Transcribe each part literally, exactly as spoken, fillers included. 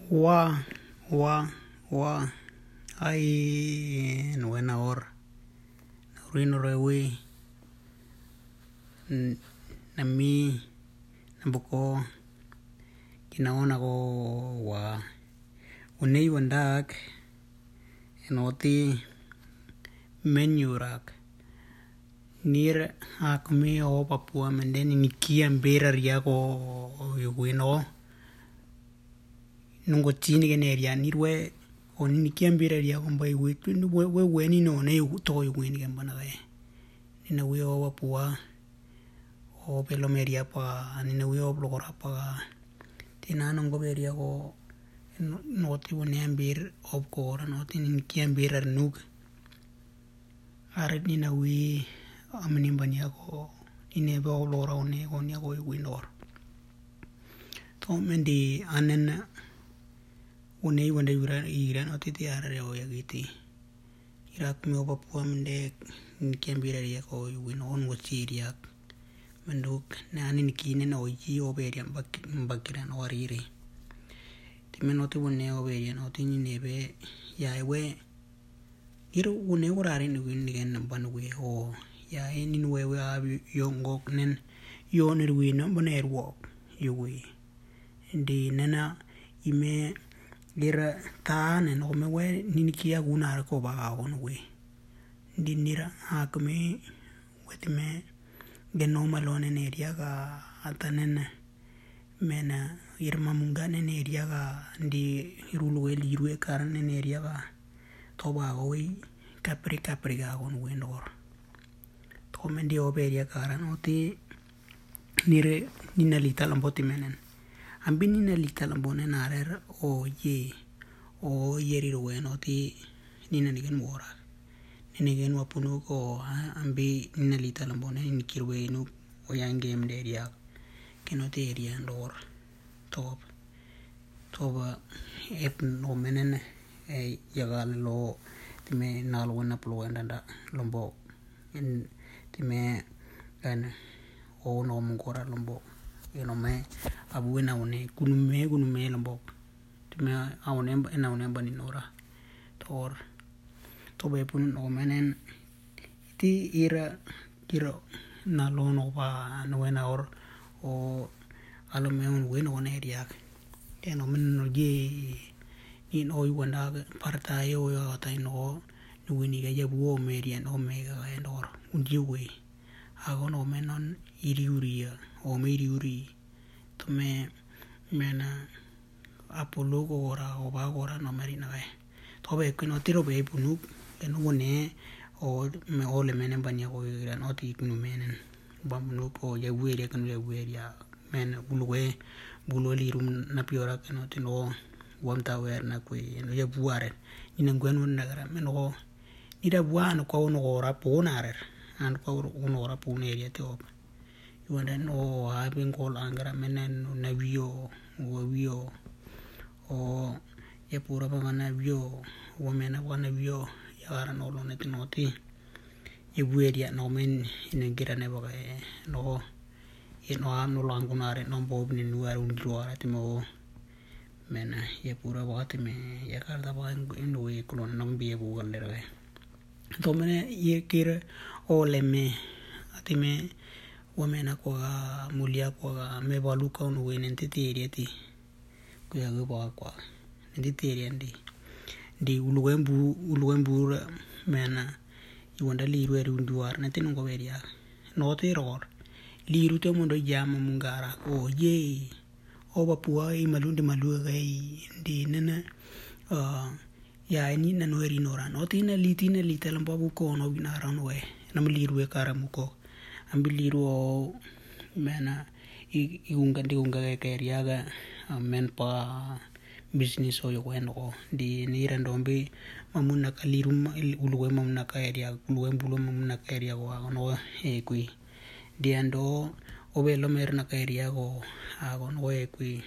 wa wa wa ai no na or rino rewe na mi na boko kinaona ko wa unei wandak enoti menu rak nir akmi o Papua mendeni nikia mbera ria ko yuguino nungo chini generia nirwe oni nikia mbera ria ko mbai witu we we we ni no ne to yuguini gembana ga nina we o Papua o pelomeria pa nina we o blogora pa tina nungo beria ko noti wone ambir op ko noti nikia mbera nuk aret nina we amenimbania ko ine ba lora one oni ko winor to mendi anen one wonde yura iran otiti are o yagiti irak me Papua mende kembira ya ko winon wo siria menduk nani nikine no yi oberia bakiran orire timenote wone oberia no tini nebe ya ewe iru wone urare ni winigen banwe o ya eni wewe abi yongok nen yonir wino boner wok yuwi ndi nena ime gira ta nen o mewe ninikia gunar ko ba on we ndi nira akme wetime geno malone ne ria ga atanen mena irma munga ne ria ga ndi irulwe lirwe karne ne ria ga to ba we kapri kapri ga on we nor komendi oberia karan oti nire nina lita lamboti menen ambi nina lita lambone narer o ye o yeri roen oti nina nigen mora nina gen wapunu ko ambi nina lita lambone nikirwe nu o yang game deria kenoti area ndor top toba ep no menen e yagal lo time nalo na plo ndanda lombo en time kan o no mungora lombo eno me abuena one kunume kunume lombo time awone ena one bani nora tor to be pun no menen ti ira kiro na lo no ba no ena or o alo me un weno one ria eno men no ye in oi wanda parta yo yo ta no nuini ga yabu o merian o mega endor unjiwe agono menon iriuria o meriuri tome mena apolo go ora o ba ora no merina ga tobe kuno tiro be punu eno one o me ole menen banya ko ira no ti kuno menen bamnu ko yabu ere kuno yabu area men bulwe bulo lirum na piora kuno tino wamta wer na kwe no yabu are ina ngwenu na gara meno ida buano ko no ora ponarer and ko no ora poneria te op yuanda no having call angara menen na vio o vio o ye pura ba na vio o mena ba na vio ya no lo net noti ye bueria no men ina gira ne ba no ye no am no langunare no bob ni nuar un roara te mo mena ye pura ba te me ya karda ba in we kolon no bie bu galle to mene ye kire o leme atime wamena ko mulia ko me baluka no we nente terieti ko ya go ba kwa nente teriandi di uluembu uluembu mena iwanda liru eru nduar nente no go beria no te ror liru te mondo jama mungara o ye o Papua i malundi malu ga di nena uh ya ini na no eri nora no tina litina lita lampa buko no binara no we na meliru e kara muko ambiliru o mena iunga di unga ke riaga men pa business o yo no di ni randombi mamuna kaliru ulwe mamuna ka area ulwe bulo mamuna ka area go no e kui di ando obelo mer na ka area go ago no e kui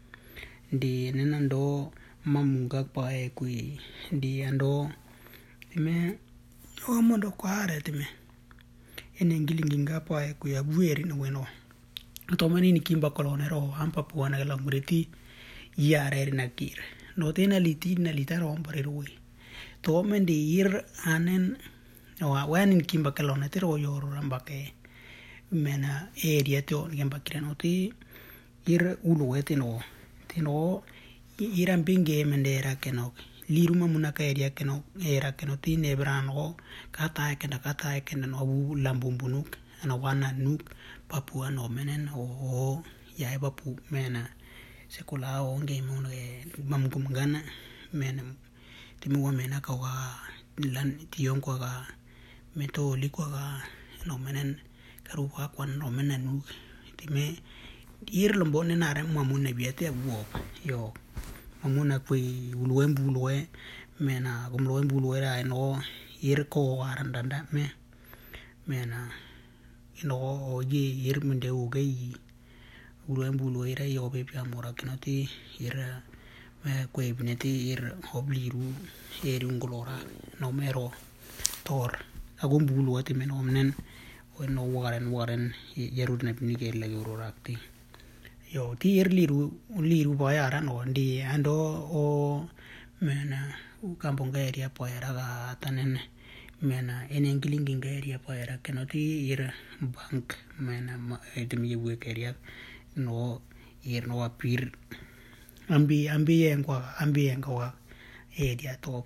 di nenando mamunga pa e kui di ando me o mondo kware teme ene ngilinginga pa e kui abueri no weno to mani ni kimba kolonero ampa puana la mureti yare na kire no te na liti na lita rom pare roi to men di ir anen wa wanin kimba kalona te ro yor rambake mena area to kimba kirano ti ir ulu ete no ti no iran pinge mendera kenok liru mamuna ka area kenok era kenok ti nebrano kata kenda kata kenda no bu lambumbunuk ana wana nuk Papua no menen o ya papu mena sekolah o nge mo nge mamgum gana mena timu wa mena ka wa lan tiong ko ga meto li ko ga no menen karu wa kwan no menen nu time ir lombo ne nare mamun ne biete wo yo mamuna kui ulwe mbulwe mena gumlo mbulwe ra no ir ko arandanda me mena ino oye ir mende ugei ulwe mbulwe ra yo be pia mora kinoti ir me kwe bineti ir obliru ir ungolora no mero tor agum bulu ati men omnen o no waren waren yerud na pinike lagi urorakti yo ti ir liru liru bayara no ndi ando o mena kampung area poera ga tanen mena enen kilinging area poera kenoti ir bank mena edemi we area no ir no apir ambi ambi en kwa ambi en kwa area top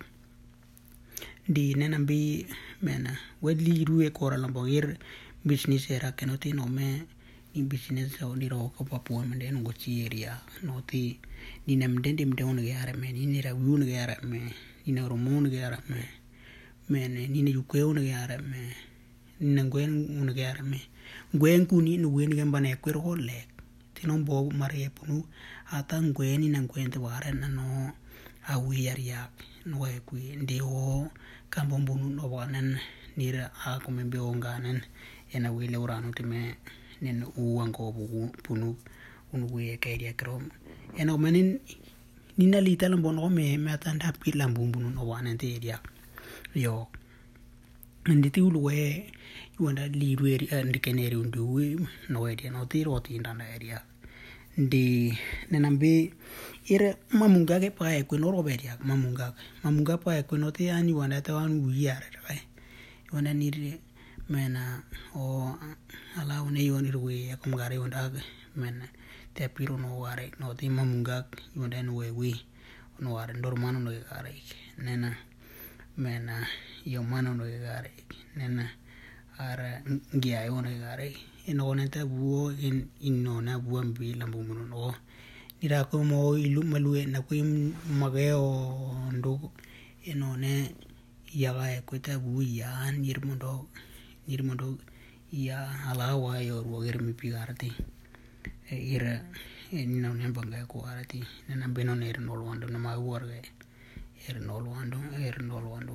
di nenambi mena wedli ruwe kora lambogir business era kenoti no me in business so ni ro ko Papua mende no chi area no ti ni nem den dim don ge ara me ni ra wu ge ara me ni na ro mo ge ara me mene ni na yuke un ge ara me ni na gwen un ge ara me gwen ku ni no wen ge mbane ko ro le ti non bo mare punu ata gwen ni na gwen te wara na no a wi yar ya no e ku ndi o kambon bunu no wanen ni ra a ko me be onganen ena wi le urano ti me nen uang ko punu unu wi ke dia krom ena manin nina lita lambon o me me atanda pi lambun bunu no wanen te dia yo nditi ulwe yuanda liru area ndikeneri undu no area no tiro ti ndana area ndi nenambe ire mamunga ke pae ko no roberia mamunga mamunga pae ko no te ani wanda ta wan wiare right wanda ni mena o ala one yoni ruwe akum gare wanda mena te piro no ware no te mamunga wanda no we no ware ndormano no gare nena mena yo mano no gare nena ara ngia yo no gare eno neta buo in inno na buambi lambumu no nira ko mo ilu malue na ko mageo ndo eno ne yaga ko ta bu ya nirmundo nirmundo ya alawa yo ro germi pigarti ira enno ne banga ko arati na beno ne no wando na ma worge er no wando er no wando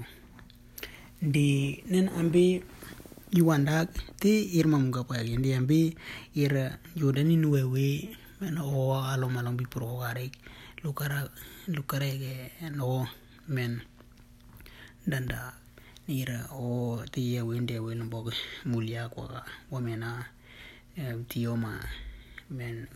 di nen ambi yuanda ti irma munga pa ndi ambi ira yodani nuwe men o alo malong bi pro gare lukara lukare ge no men danda nira o ti ya wende we lombo mulia kwa wamena tioma men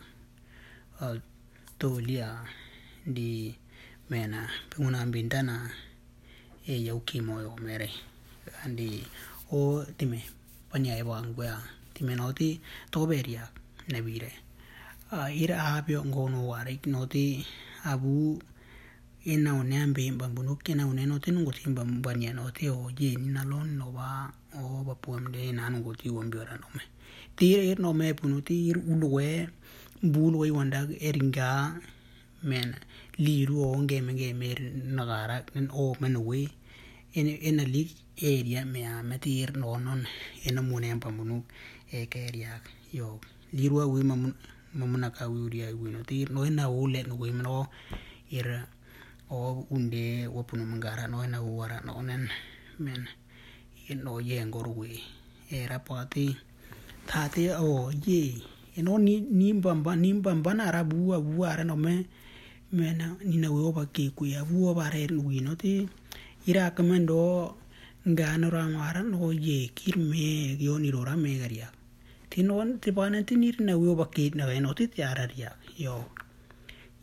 to lia di mena penguna bintana e yauki moyo mere andi o time panya e bang gua time noti to beria nebire a ira abio ngono ware noti abu ena onembe bambunu kena oneno tenungo timba mbania noti o je ni nalon no ba o ba puamde na ngo ti wombiora no me tire no me punuti ir ulwe bulwe wanda eringa men liru o ngeme ngeme nagara nen o menwe en en a lig area me a metir no non en amune pambunu e ke area yo liru wi mamun mamuna ka wi ria wi no tir no na ule no wi no ir o unde wopunu mangara no na wara no nen men no ye ngor wi era pati thate o ye eno ni ni bamba ni bamba na rabu abu ara no me mena ni na wo ba ke ku ya wo ba re wi no ti ira kamendo ngano ramara no ye kirme yo ni rora me garia tinon ti bana ti ni na wo ba ke na no ti tiara ria yo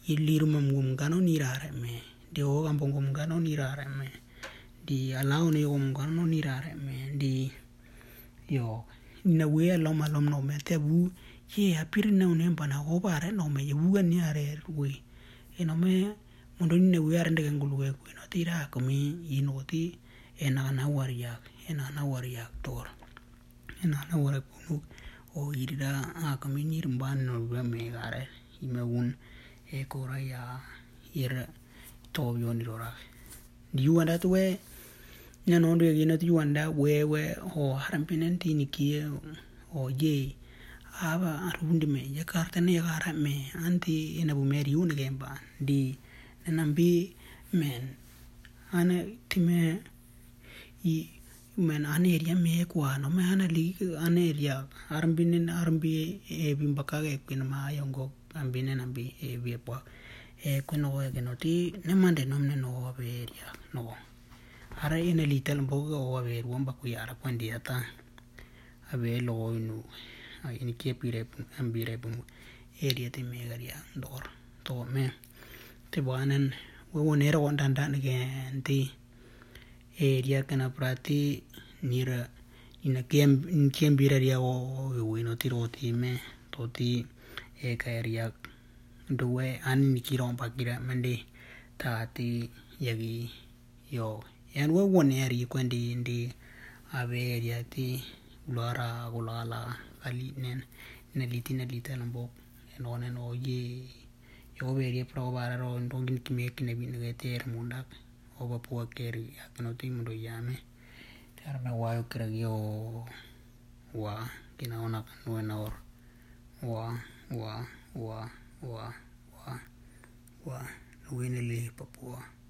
iliru mamgum kano nirare me di o kampung gum kano nirare me di alau ni gum kano nirare me di yo na we alom alom no me te bu ye apir na unem pana go bare no me bu gan ni are we e no me mondo ni we are ndega ngulu we no tira ko mi ino ti ena na waria ena na waria tor ena na waria punu o irida a ko mi ni rumban no we me gare ime un e kora ya ir to yo ni rora di wanda to we na no de gina ti wanda we we o harampinen ti ni kie o ye aba arundi me ya karta ne gara me anti ina bu meri un gemba di nambi men ana time i men ane area me kwa no me ana li ane area arambinen arambi e bimbaka ke pin ma yongo ambine nambi e bi po e kuno ke no ti ne mande no ne no be area no ara ina litel mbo o be ruamba ku yara kwandi ata abe lo inu ini ke pire ambire bu area te me garia dor to me te buanan we wonera on dan dan ke anti area kana prati nira ina kem kem bira dia o we no tiro ti me to ti e ka area due ani kiro pakira mende ta ti yagi yo en we won area kwandi ndi ave area ti ulara ulala ali nen neliti nelita lambo en onen o ye yo veri provare ro ndongin kime kine bin geter mundak o ba po keri akno ti mundo yame ter me wa yo kregio wa kina ona no na or wa wa wa wa wa wa wa no le papua